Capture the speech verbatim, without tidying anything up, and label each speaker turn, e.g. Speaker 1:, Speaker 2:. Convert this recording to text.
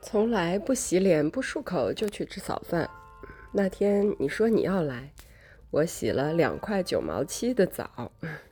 Speaker 1: 从来不洗脸不漱口就去吃早饭。那天你说你要来，我洗了两块九毛七的澡。